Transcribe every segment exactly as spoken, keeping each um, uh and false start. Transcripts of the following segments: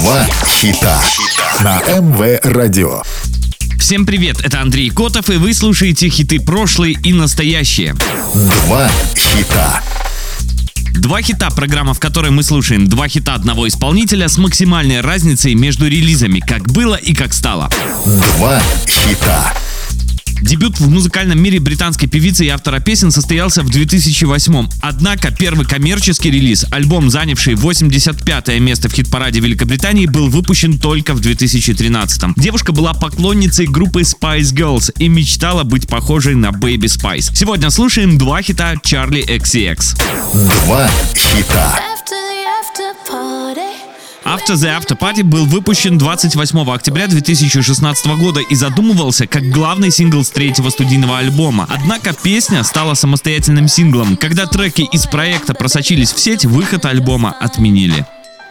Два хита на эм вэ Радио. Всем привет, это Андрей Котов, и вы слушаете хиты прошлые и настоящие. Два хита. Два хита — программа, в которой мы слушаем два хита одного исполнителя с максимальной разницей между релизами, как было и как стало. Два хита. Дебют в музыкальном мире британской певицы и автора песен состоялся в две тысячи восьмом. Однако первый коммерческий релиз, альбом, занявший восемьдесят пятое место в хит-параде Великобритании, был выпущен только в две тысячи тринадцатом. Девушка была поклонницей группы Spice Girls и мечтала быть похожей на Baby Spice. Сегодня слушаем два хита Charli икс си экс. Два хита. After the After Party был выпущен двадцать восьмого октября две тысячи шестнадцатого года и задумывался как главный сингл с третьего студийного альбома. Однако песня стала самостоятельным синглом. Когда треки из проекта просочились в сеть, выход альбома отменили.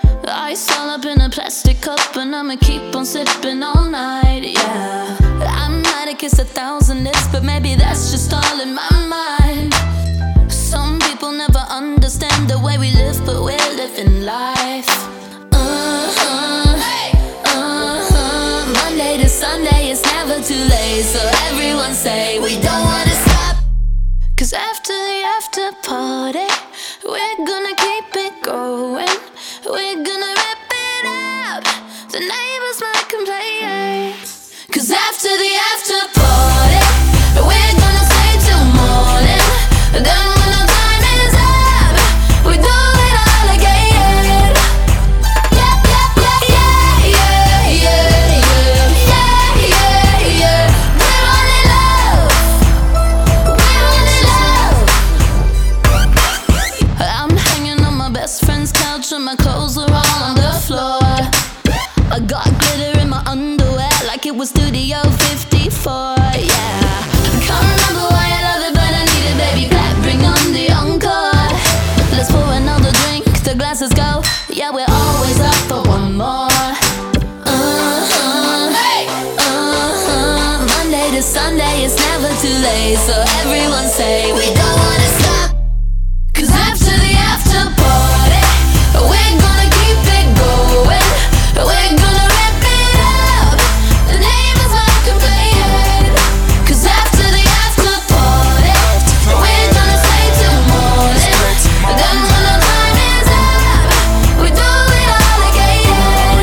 Sunday it's never too late, so everyone say we don't wanna stop. Cause after the after party, we're gonna keep it going. We're gonna rip it up, the neighbors might complain. Cause after the after party, we're gonna stay till morning. Then when the time is up, we do it all again. Yeah, yeah, yeah, yeah, yeah, yeah, yeah, yeah. We're running love, we're running love. I'm hanging on my best friend's couch and my clothes are all on the floor. I got glitter in my underwear like it was Studio fifty-four, yeah. I can't remember why I love it, but I need it, baby. Clap, bring on the encore. Let's pour another drink, the glasses go. Yeah, we're always up for one more. Uh-huh, uh-huh. Monday to Sunday, it's never too late, so everyone say we don't wanna stop. Cause after the after party, we're gonna keep it going. We're gonna rip it up, the neighbors might complain. Cause after the after party, we're gonna stay till morning. Then when the time is up, we do it all again.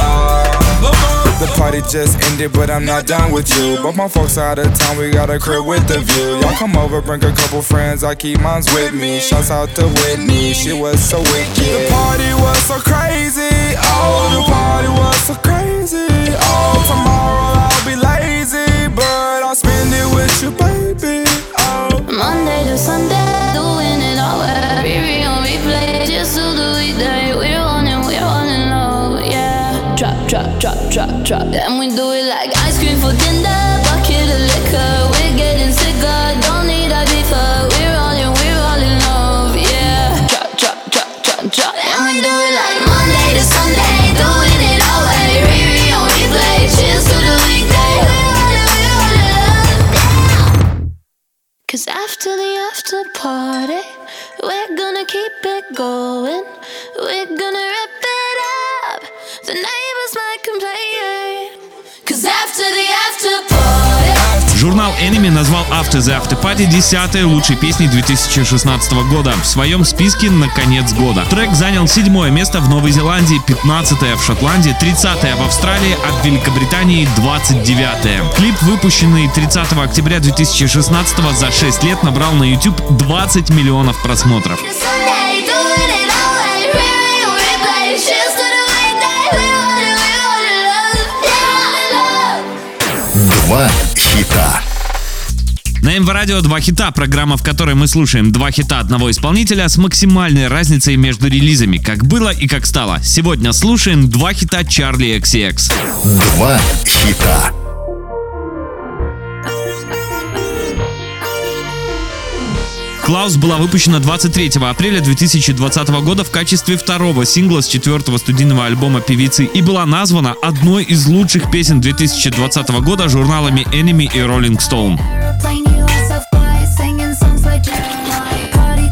The party just ended, but I'm not done with you. But my folks out of town, we got a crib with the view. Y'all come over, bring a couple friends, I keep mines with me. Shouts out to Whitney, she was so wicked. The party was so crazy, oh, the party was so crazy. Oh, tomorrow I'll be lazy, but I'll spend it with you, baby. Oh. Monday to Sunday, doing it all. Riri on replay, just do the weekday. We're on it, we're on it low, yeah. Drop, drop, drop, drop, drop. And we do it like ice cream for dinner, bucket of liquor. We're getting sicker, don't need a beefer. We're all in, we're all in love, yeah. Drop, drop, drop, drop, drop. And we do it like Monday to Sunday, doing it all way. Riri on replay, cheers to the weekday. We're all in, we're all in love, yeah. Cause after the after party, we're gonna keep it going. We're gonna rip it up, the neighbors might complain. Cause after the after party. Журнал Enemy назвал After the After Party десятой лучшей песней две тысячи шестнадцатого года в своем списке на конец года. Трек занял седьмое место в Новой Зеландии, пятнадцатое в Шотландии, тридцатое в Австралии, а в Великобритании двадцать девятое. Клип, выпущенный тридцатого октября две тысячи шестнадцатого, за шесть лет набрал на YouTube двадцать миллионов просмотров. Два хита. На эм вэ Радио «Два хита» — программа, в которой мы слушаем два хита одного исполнителя с максимальной разницей между релизами, как было и как стало. Сегодня слушаем два хита Charli икс си экс. Два хита. Klaus была выпущена двадцать третьего апреля две тысячи двадцатого года в качестве второго сингла с четвертого студийного альбома певицы и была названа одной из лучших песен две тысячи двадцатого года журналами Enemy и Rolling Stone.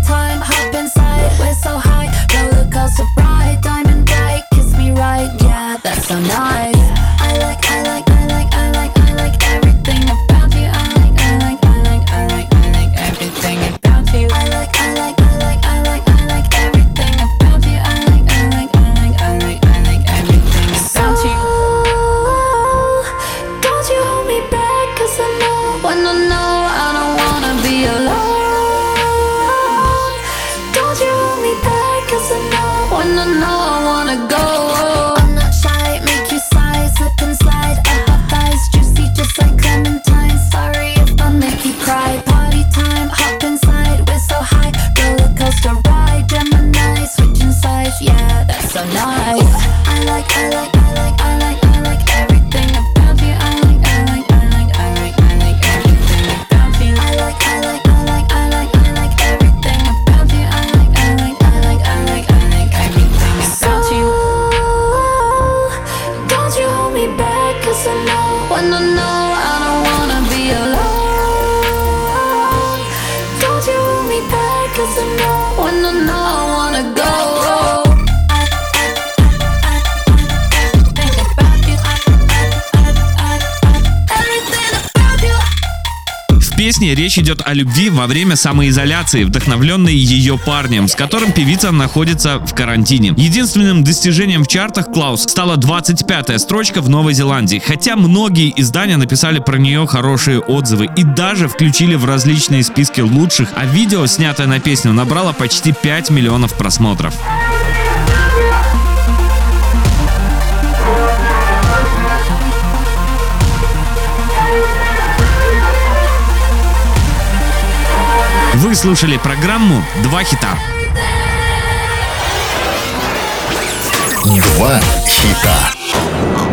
So bright, diamond bright, kiss me right, yeah. so nice. I like, I like, I like, I like, I like everything about you. I like, I like, I like, I like, I like everything about you. I like, I like, I like, I like, I like everything about you. I like, I like, I like, I like, I like everything about you. Don't you hold me back, 'cause I know when I know I don't wanna be alone. Don't you hold me back, 'cause I know when I know I wanna go. I'm not shy, make you sigh, slip and slide. I have thighs juicy just like clementine. Sorry if I make you cry. Party time, hop inside, we're so high. Roller coaster ride, Gemini, switching sides. Yeah, that's so nice. I like, I like, I like, I like, I like everything about you. I like, I like, I like, I like, I like everything about you. I like, I like, I like, I like, I like everything about you. I like, I like, I like, I like, I like everything about you. Don't you hold me back, 'cause I know when I know I don't wanna be alone. Don't you hold me back, 'cause I know when I know I wanna go. В песне речь идет о любви во время самоизоляции, вдохновленной ее парнем, с которым певица находится в карантине. Единственным достижением в чартах Клаус стала двадцать пятая строчка в Новой Зеландии, хотя многие издания написали про нее хорошие отзывы и даже включили в различные списки лучших, а видео, снятое на песню, набрало почти пять миллионов просмотров. Вы слушали программу «Два хита». Два хита.